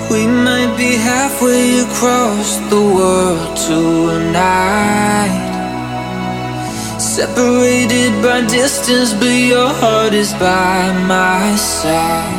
We might be halfway across the world tonight, separated by distance, but your heart is by my side.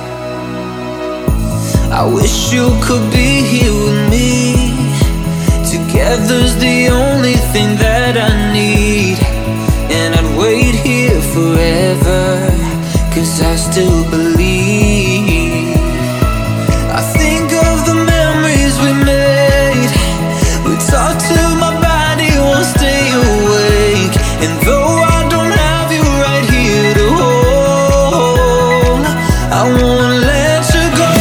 I wish you could be here with me. Together's the only thing that I need. And I'd wait here forever, 'cause I still believe. I think of the memories we made. We talk till my body won't stay awake. And though I don't have you right here to hold, I won't let you go.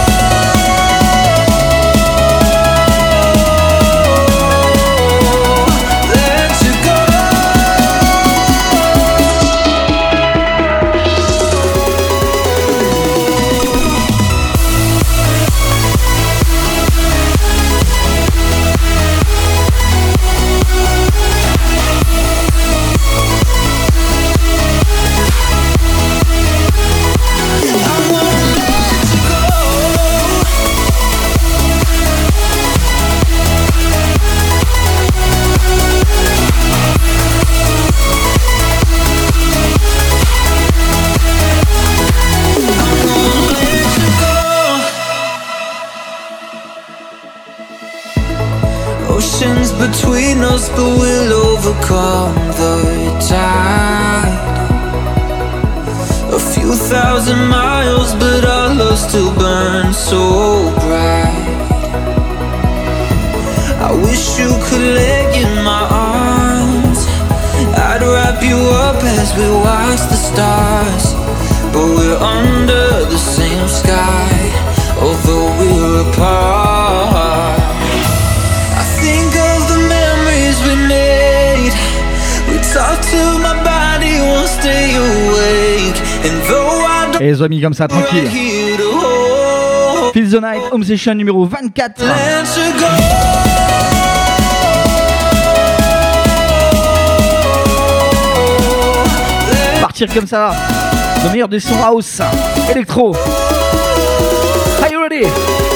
Oceans between us, but we'll overcome the tide. A few thousand miles, but our love still burns so bright. I wish you could lay in my arms. I'd wrap you up as we watch the stars. But we're under the same sky, although we're apart. Think of the memories we made. We talk till my body won't stay awake. And though I don't. Et les amis comme ça tranquille. Feel the Night Home Session numéro 24. Partir comme ça. Le meilleur des sons house, électro. Are you ready?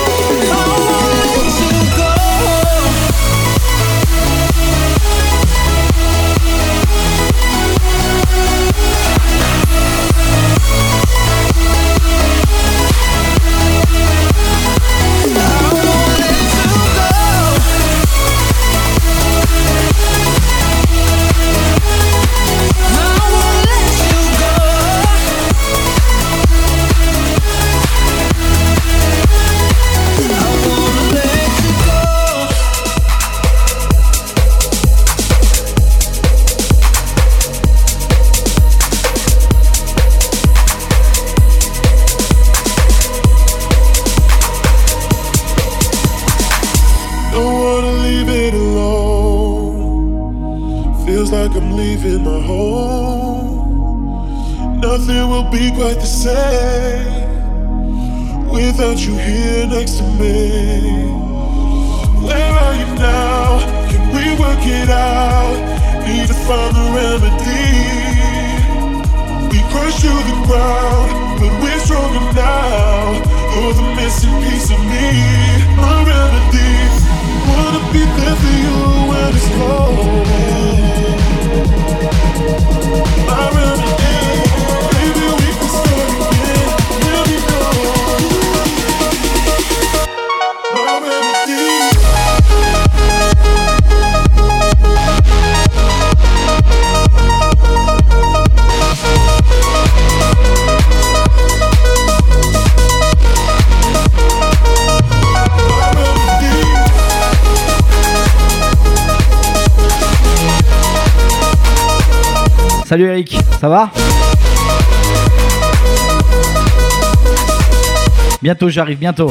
Be quite the same without you here next to me. Where are you now? Can we work it out? Need to find the remedy. We crushed to the ground, but we're stronger now. You're the missing piece of me. My remedy. Wanna be there for you when it's cold. My remedy. Salut Eric, ça va? Bientôt, j'arrive, bientôt.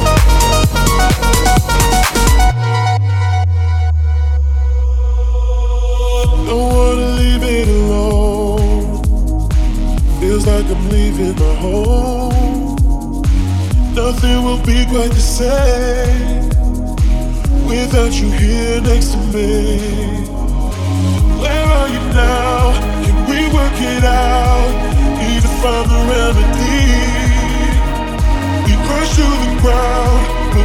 Don't wanna leave it alone. Feels like I'm leaving my home. Nothing will be quite the same without you here next to me. Where are you now? Can we work it out? Need to find the remedy. We crush to the ground,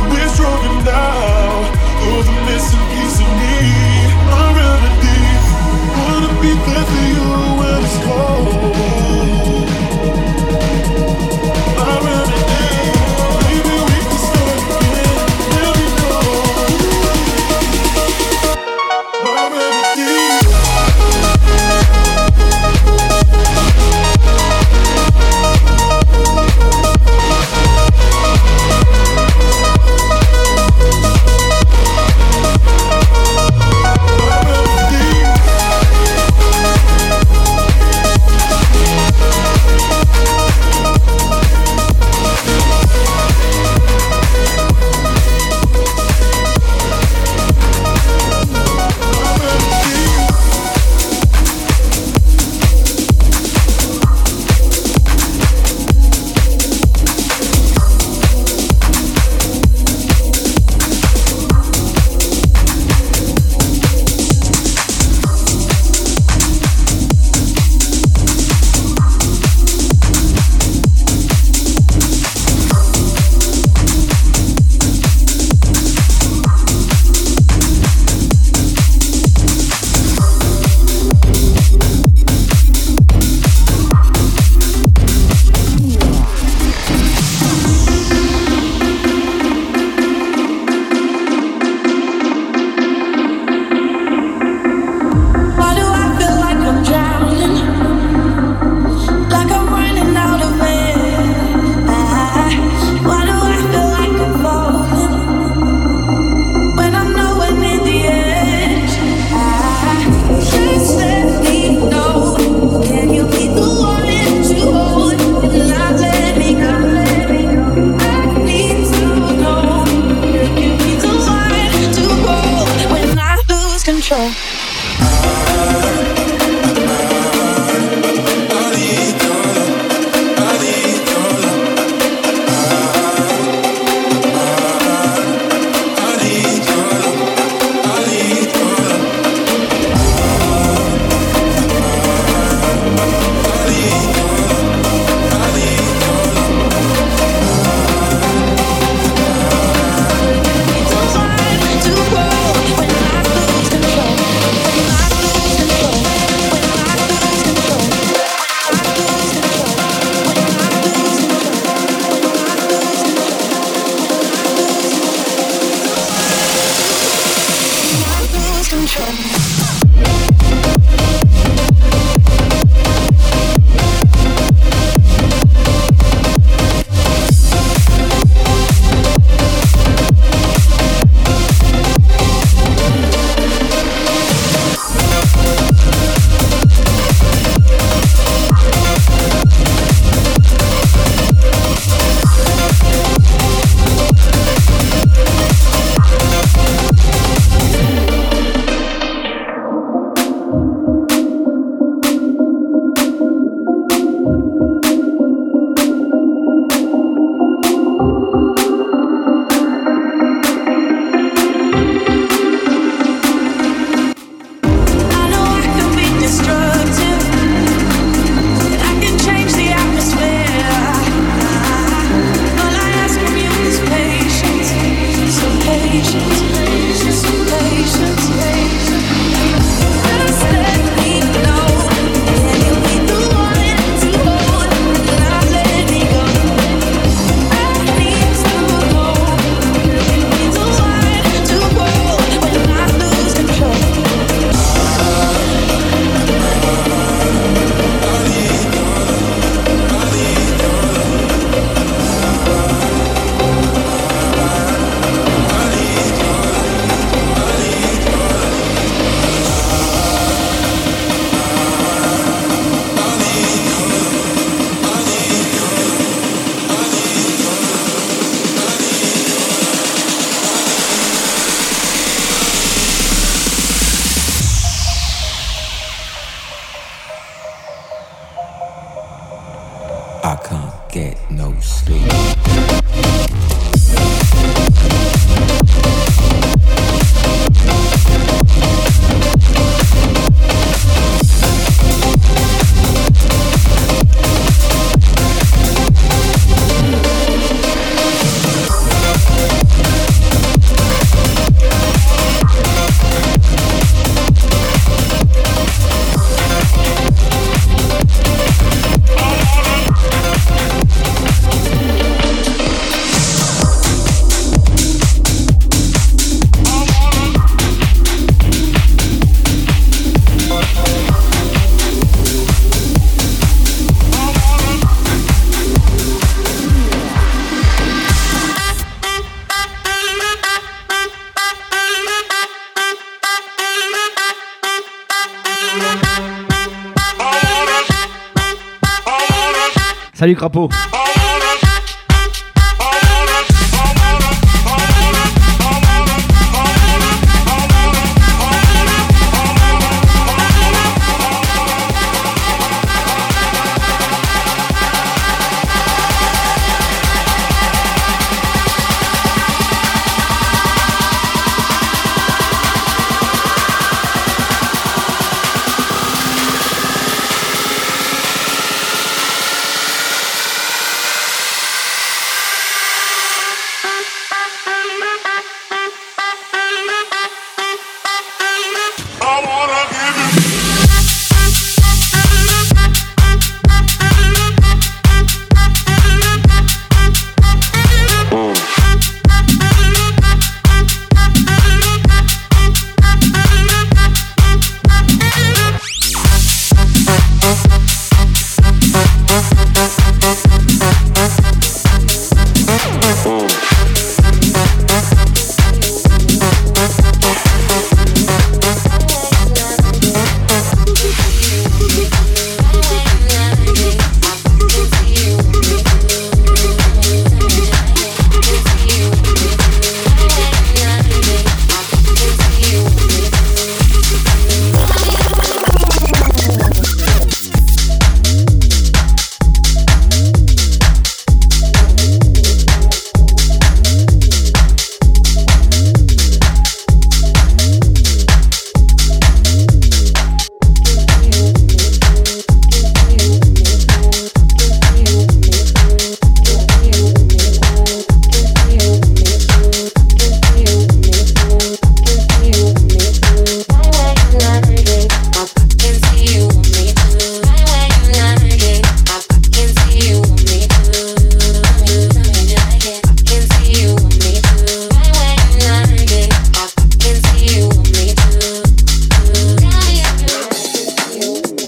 Salut Crapaud.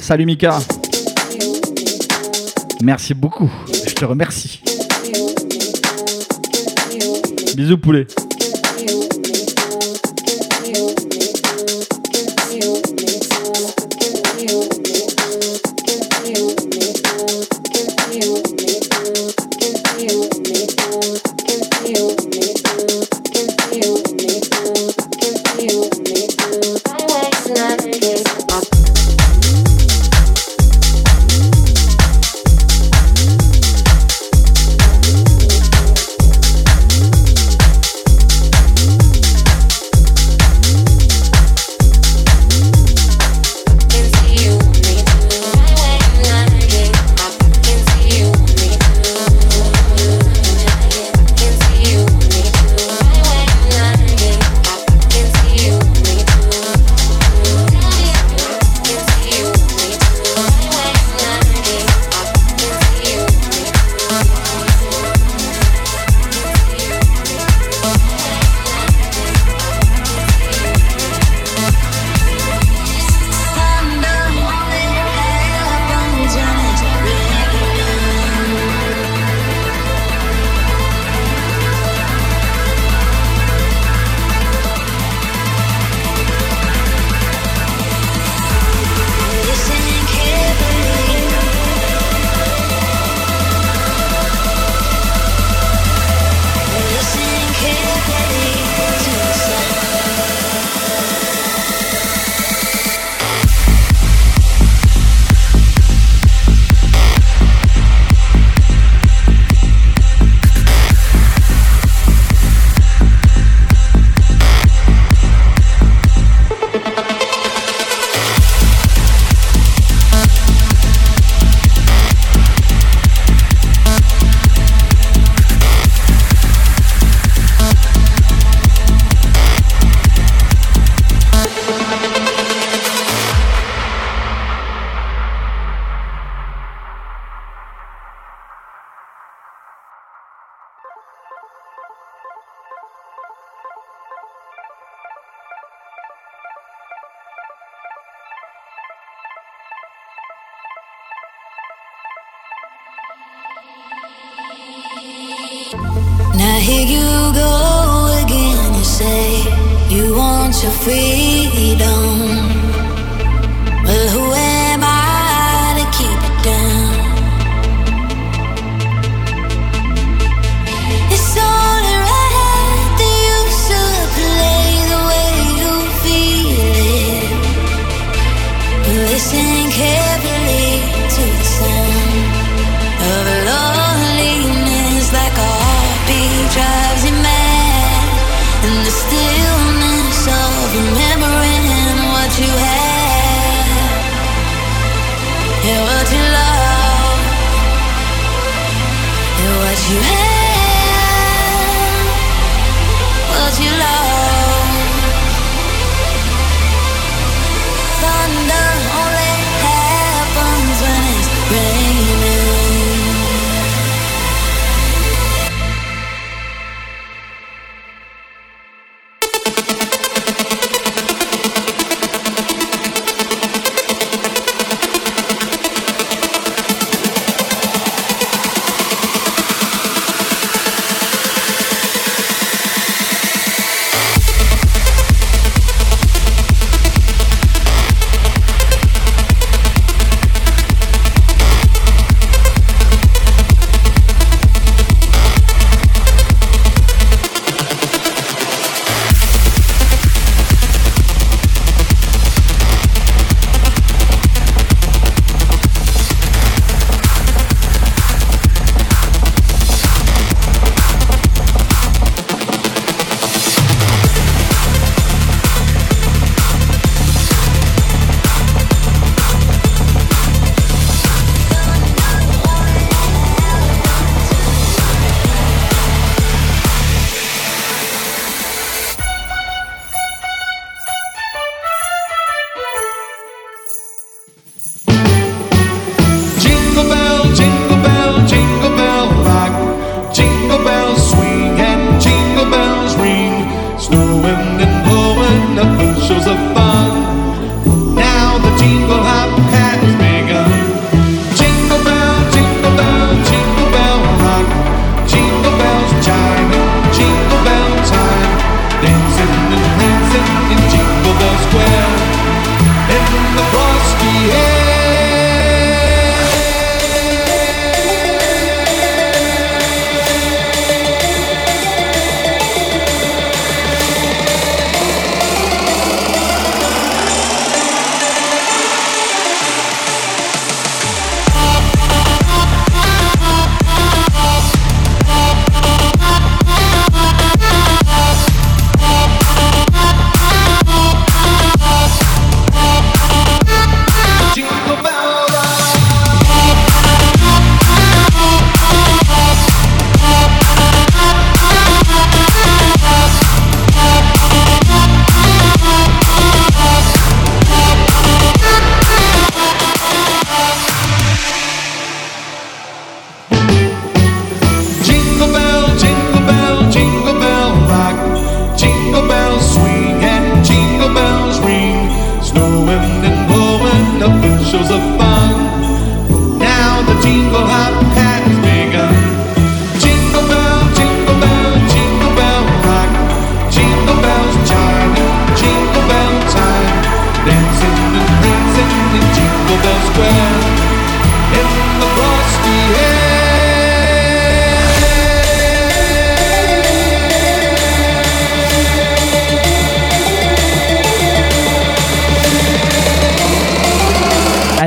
Salut Mika. Merci beaucoup. Je te remercie. Bisous poulet. Now here you go again, you say you want your freedom. Well, who am I to keep it down? It's only right that you should play the way you feel it. Listen carefully to the sound of loneliness, like a heartbeat drives you mad, and the stillness of remembering what you had, and what you love, and what you had, what you love. Thunder only happens when it's raining.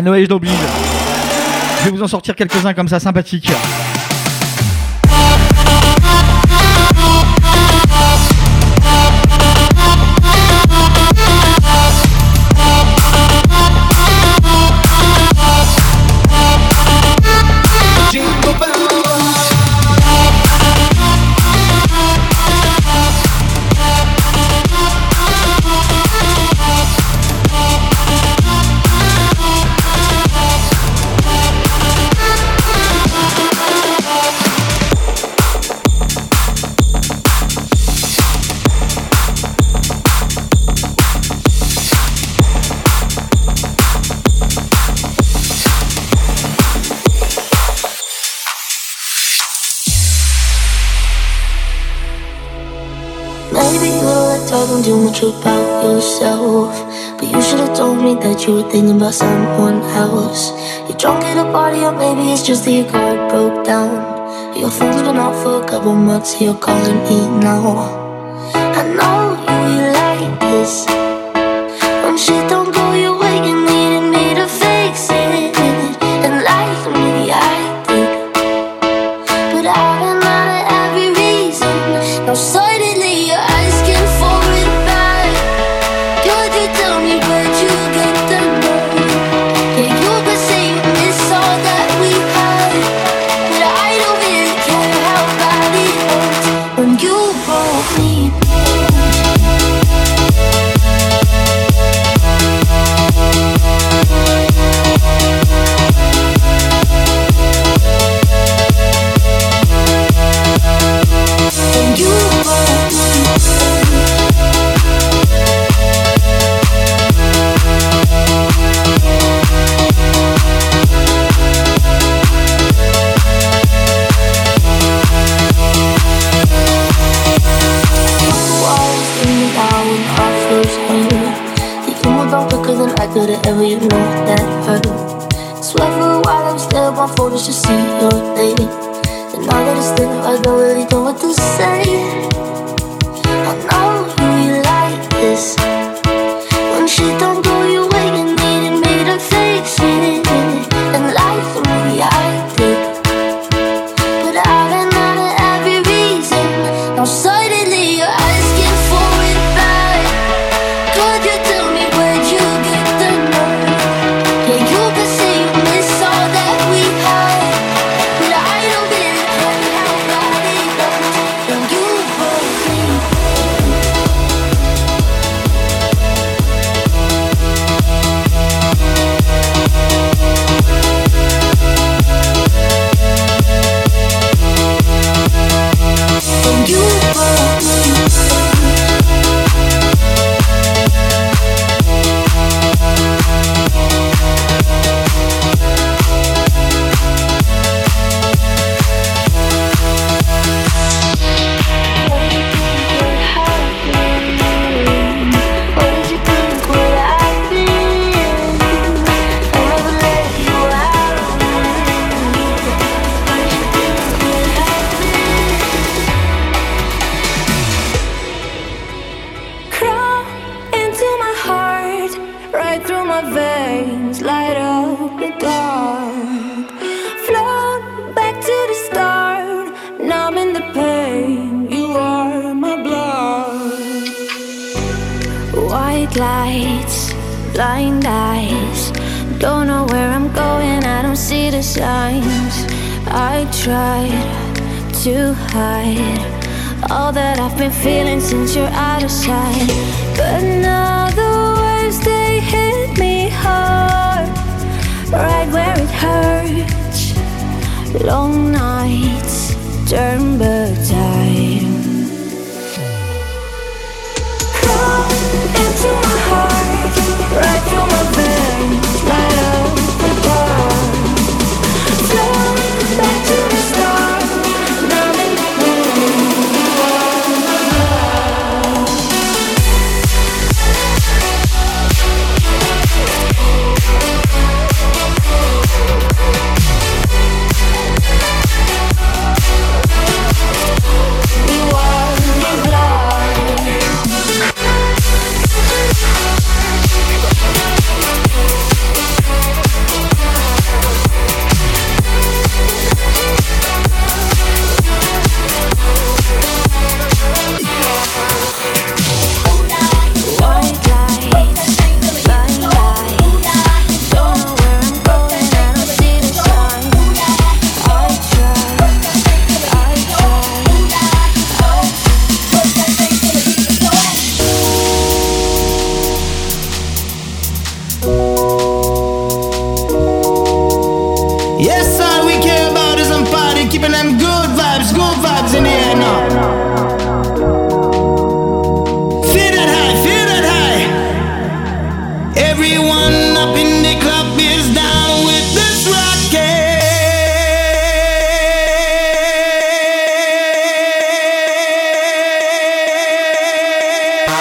Noël, je l'oblige. Je vais vous en sortir quelques-uns comme ça, sympathiques. Talking too much about yourself, but you should have told me that you were thinking about someone else. You're drunk at a party, or maybe it's just that your car broke down. Your phone's been off for a couple months, so you're calling me now. I know you like this. When shit don't go your way, you needed me to fix it. And like me, I did, but I ran out of every reason. Now suddenly you're asking for it back. Could you tell me where'd you get the nerve? Yeah, you could say you miss all that we had, but I don't really care how bad it hurts when you broke me. Ever you know that hurt. Swear for a while I was there on phone just to see your name. And now that it's there, I don't really know what to say. I know you like this. When shit don't go your way, you needed me to fix it. And life for me, I did, but I ran out of every reason. Now suddenly you're asking for it back. Could you tell me where'd you get the nerve? Yeah, you could say you miss all that we had, but I don't really care how bad it hurts when you broke me. When you broke me. Lights, blind eyes, don't know where I'm going, I don't see the signs. I tried to hide all that I've been feeling since you're out of sight, but now the waves, they hit me hard, right where it hurts. Long nights turn back time. Into my heart, right through my veins, light up the dark. Flow back to the start, now I'm in the moon. You are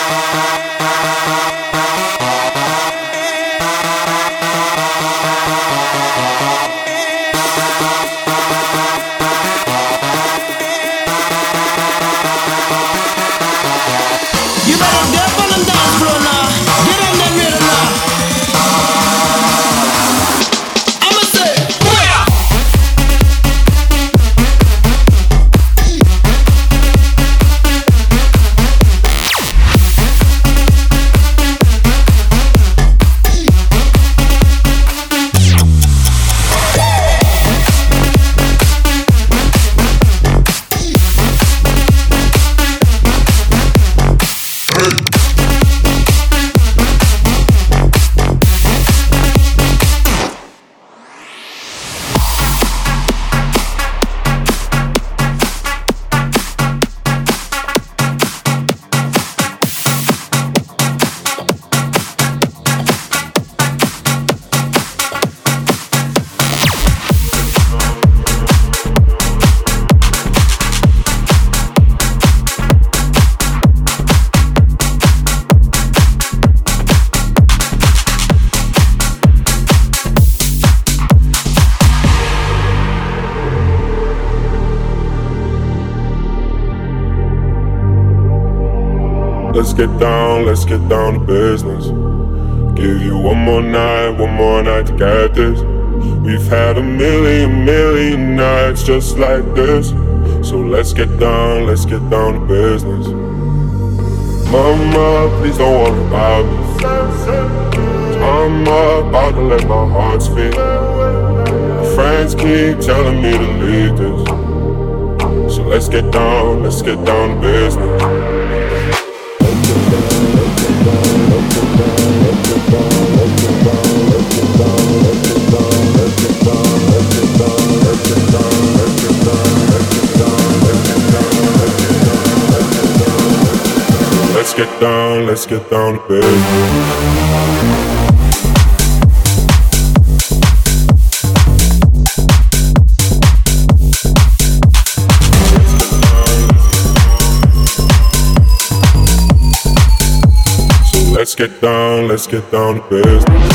Let's get down to business. Give you one more night to get this. We've had a million nights just like this. So let's get down to business. Mama, please don't worry about me. I'm about to let my heart speak. My friends keep telling me to leave this. So let's get down to business. Let's get down to business. Let's get down to business.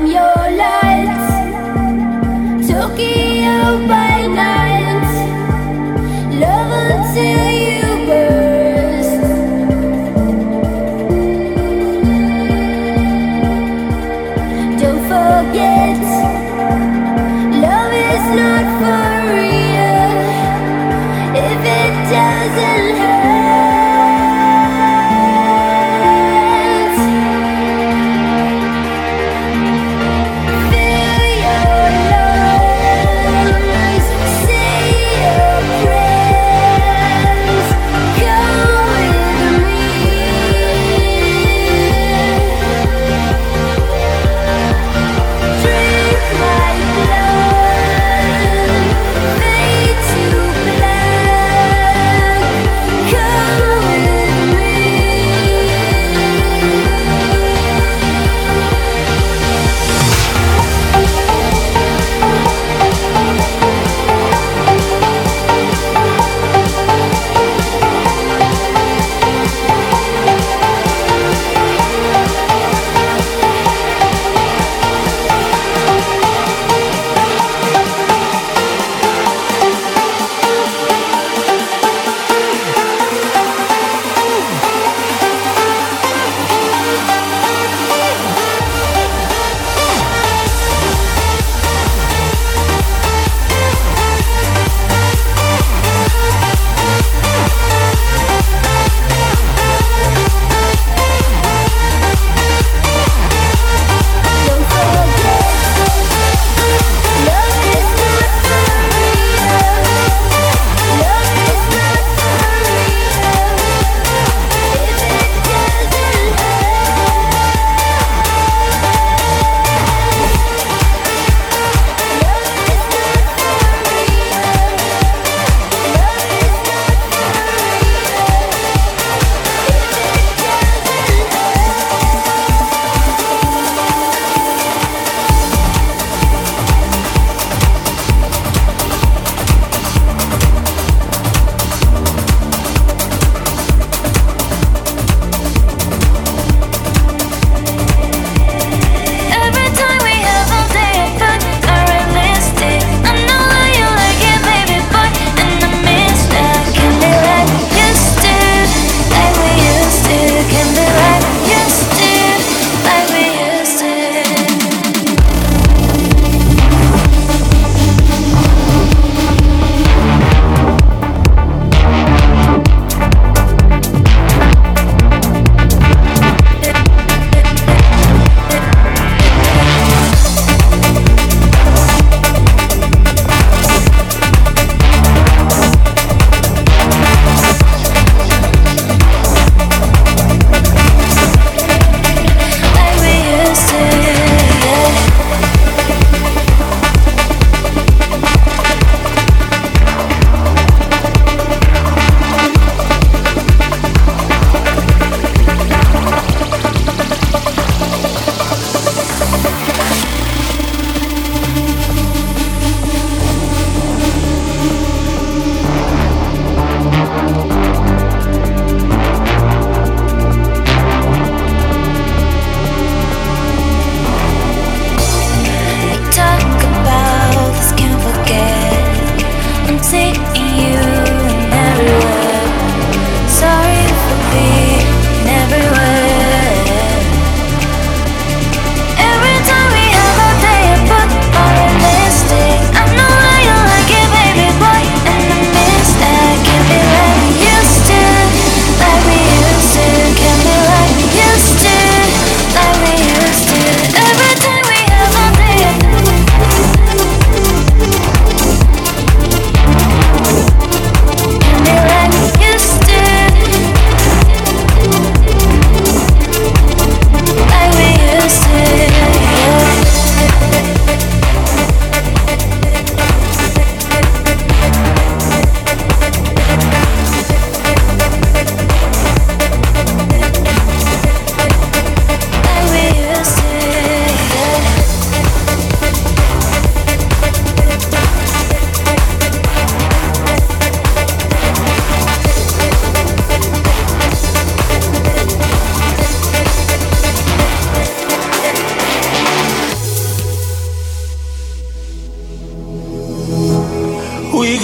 Come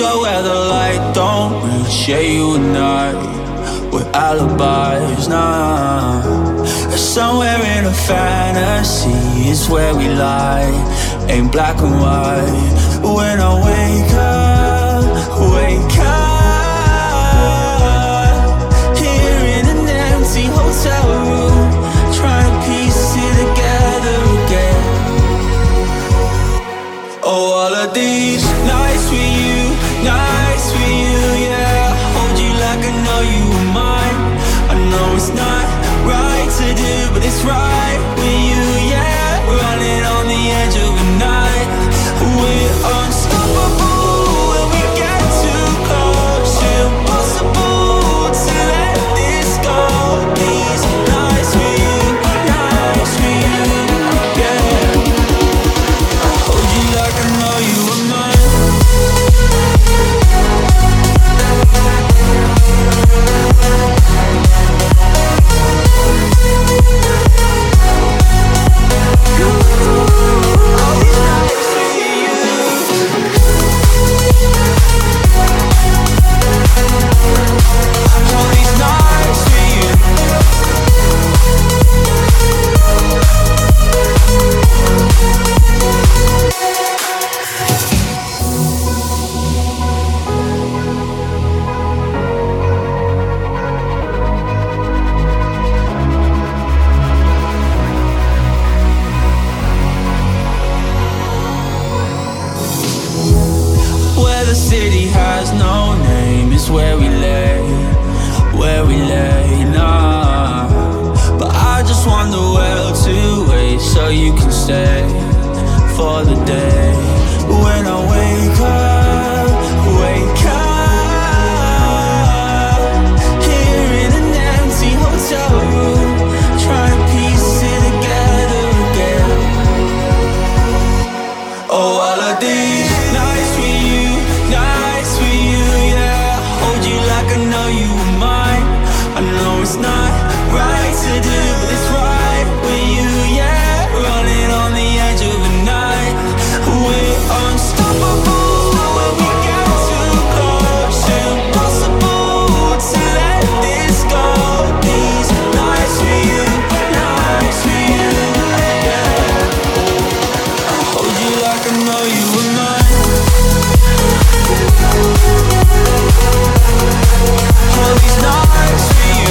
go where the light don't reach. Yeah, you and I, we're alibis now. Somewhere in a fantasy is where we lie. Ain't black and white. When I wake up, here in an empty hotel room, trying to piece it together again. Oh, all of these nights with you, yeah. Hold you like I know you were mine. I know it's not right to do, but it's right with you, yeah. Running on the edge of a night. We're unstoppable when we get too close. Impossible to let this go. These nights with you, yeah. Hold you like I know you were mine. Where we lay, nah. But I just want the world to wait so you can stay for the day. When I wake up, here in an empty hotel room, trying to piece it together again. Oh, all of these nights with you, yeah. Hold you like I know you were mine. I know it's not right to do, but it's right with you, yeah. Running on the edge of a night. We're unstoppable when we get too close. Impossible to let this go. These nights with you, yeah. Hold you like I know you were mine. All these nights for you.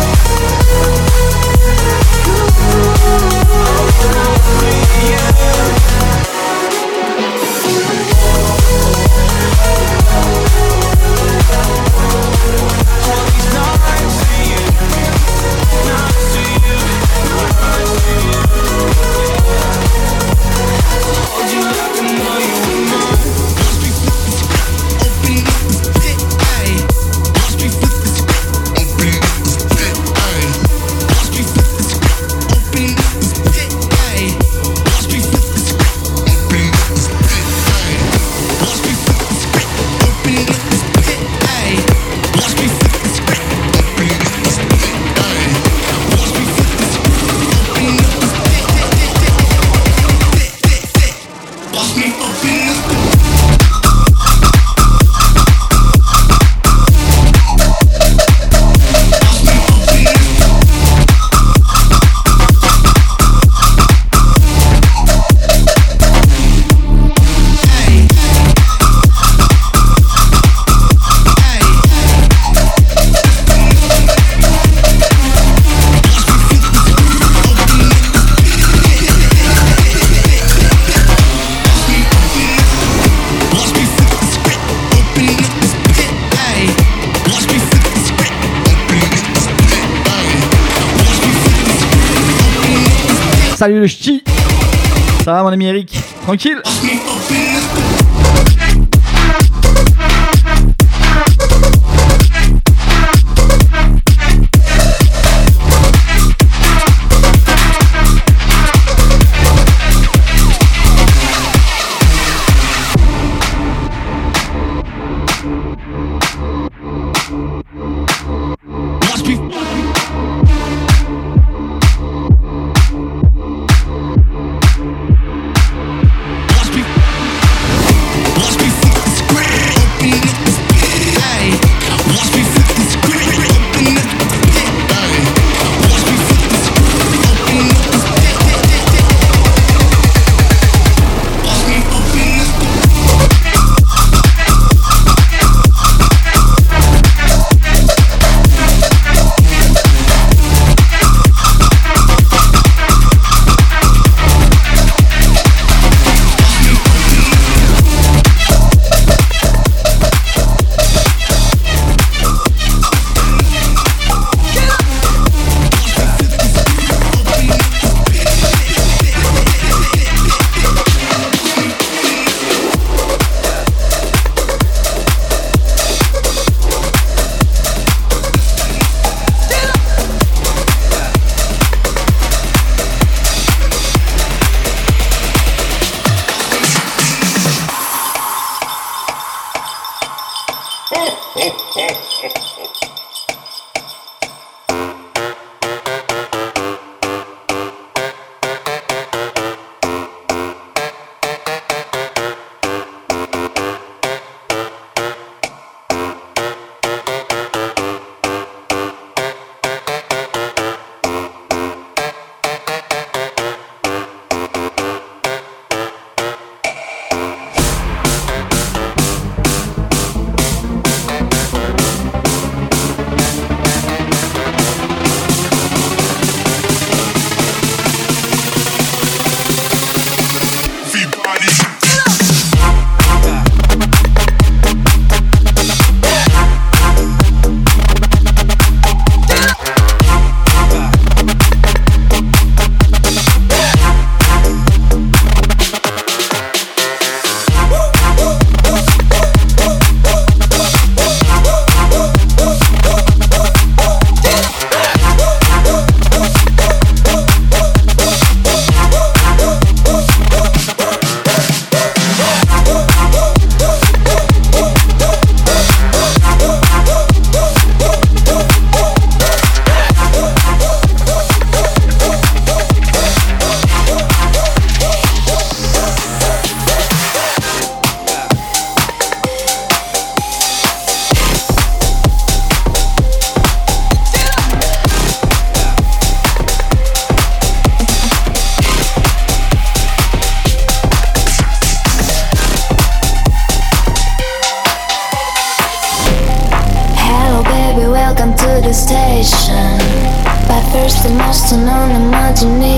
Salut le ch'ti. Ça va mon ami Eric? Tranquille?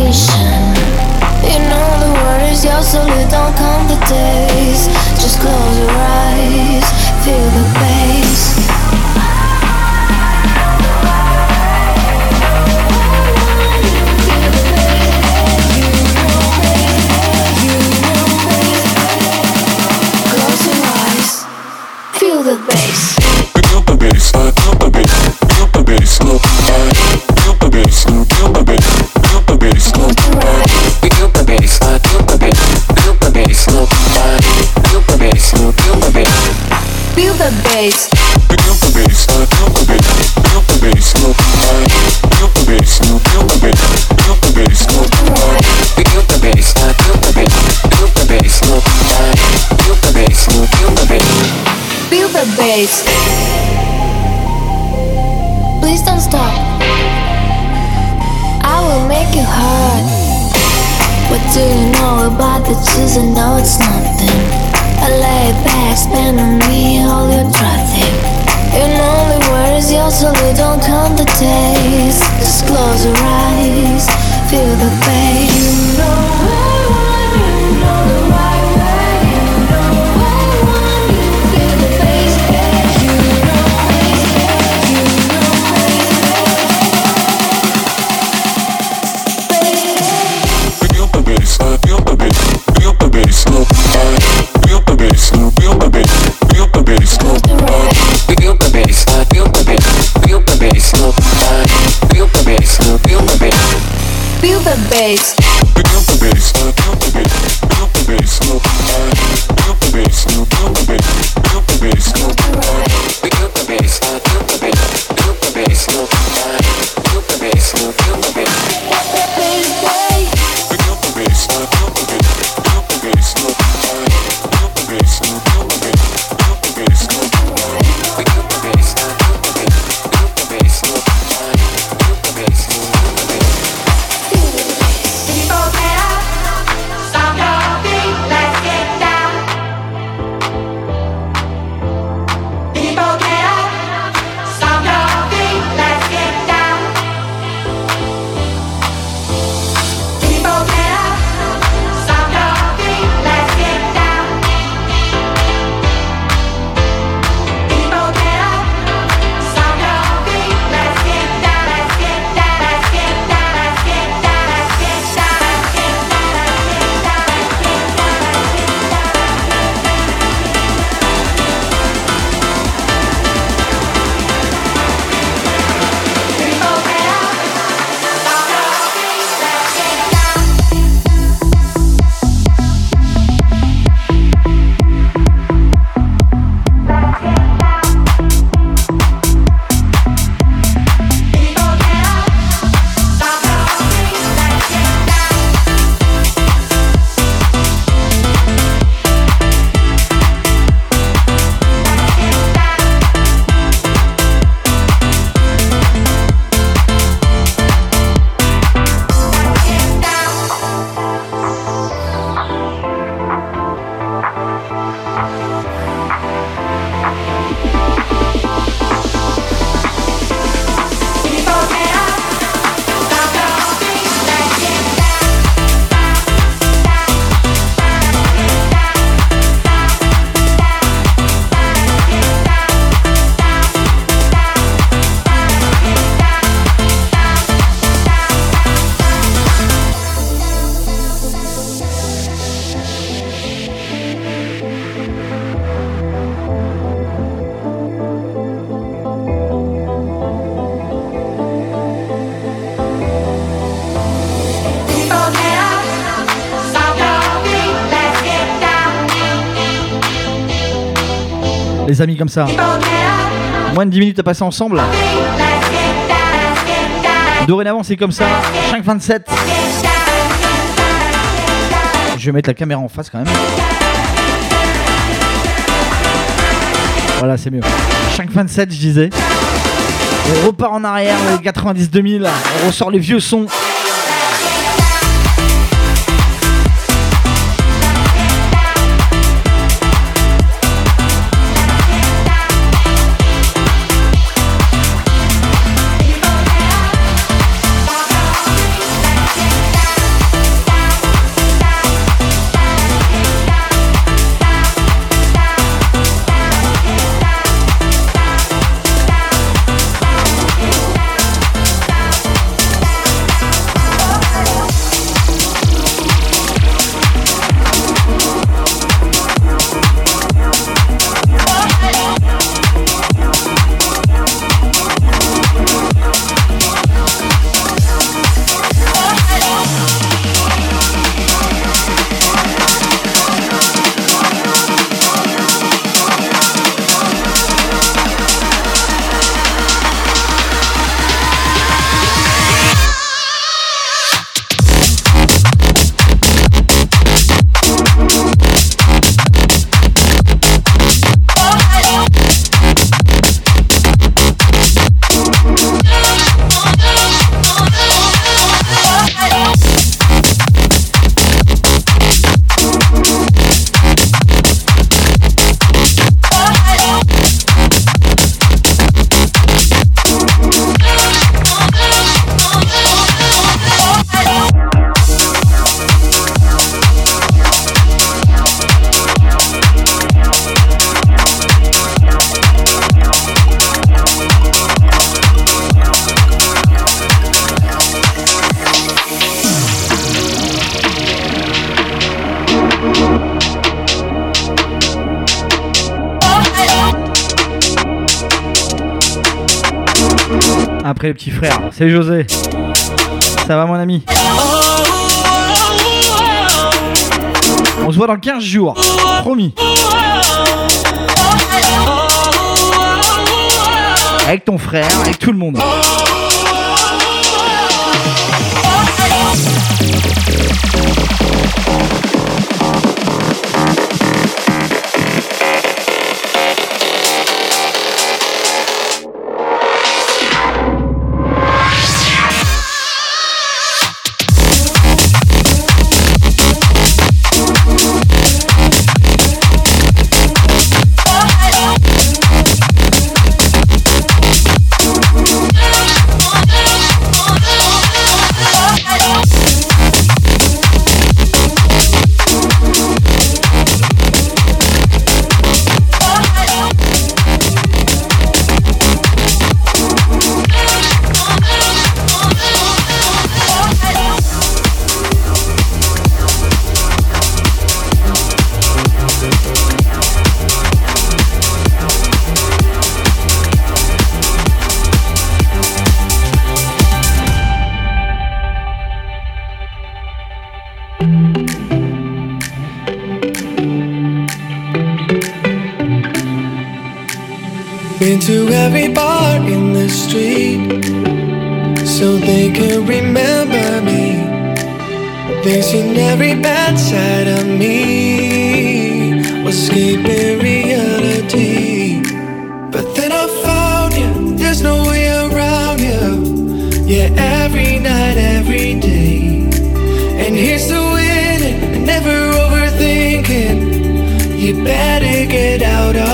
sensation. You know the word is yours, so don't count the days. Just close your eyes, feel the bass. Close your eyes, feel the bass. Feel the bass, feel the bass, feel the bass, feel the bass, feel the bass, feel the bass, feel the bass, feel the bass, feel the bass, feel the bass, feel the bass, feel the bass. Feel the bass. Feel the bass, feel the bass, feel the bass, feel the bass, feel the bass, feel the bass, feel the bass, feel the bass, feel the bass, feel the bass, feel the bass, feel the bass. Feel the bass. Please don't stop. I will make you hurt. What do you know about the chills? I know it's nothing. I lay back, spend on me all your traffic. You know the word is yours, so don't count the days. Just close your eyes, feel the bass. You know the right way. You know you feel the bass. You know Feel the bass, feel the bass, feel the bass, feel the bass, feel the bass, feel the bass, feel the bass, feel the bass, feel the bass, feel the bass, feel the bass, feel the bass, feel the bass. feel the bass, feel the bass, feel the bass, feel the bass, feel the bass, feel the bass, feel the bass, feel the bass, feel the bass, feel the bass, feel the bass, feel the bass. Les amis, comme ça. Moins de 10 minutes à passer ensemble. Dorénavant, c'est comme ça. 5-27. Je vais mettre la caméra en face quand même. Voilà, c'est mieux. 5-27, je disais. On repart en arrière, les 90-2000. On ressort les vieux sons. Après les petits frères, c'est José. Ça va mon ami? On se voit dans 15 jours, promis. Avec ton frère, avec tout le monde. Been to every bar in the street so they can remember me. They've seen every bad side of me, escaping reality. But then I found you, there's no way around you. Yeah, every night, every day. And here's to winning and never overthinking. You better get out of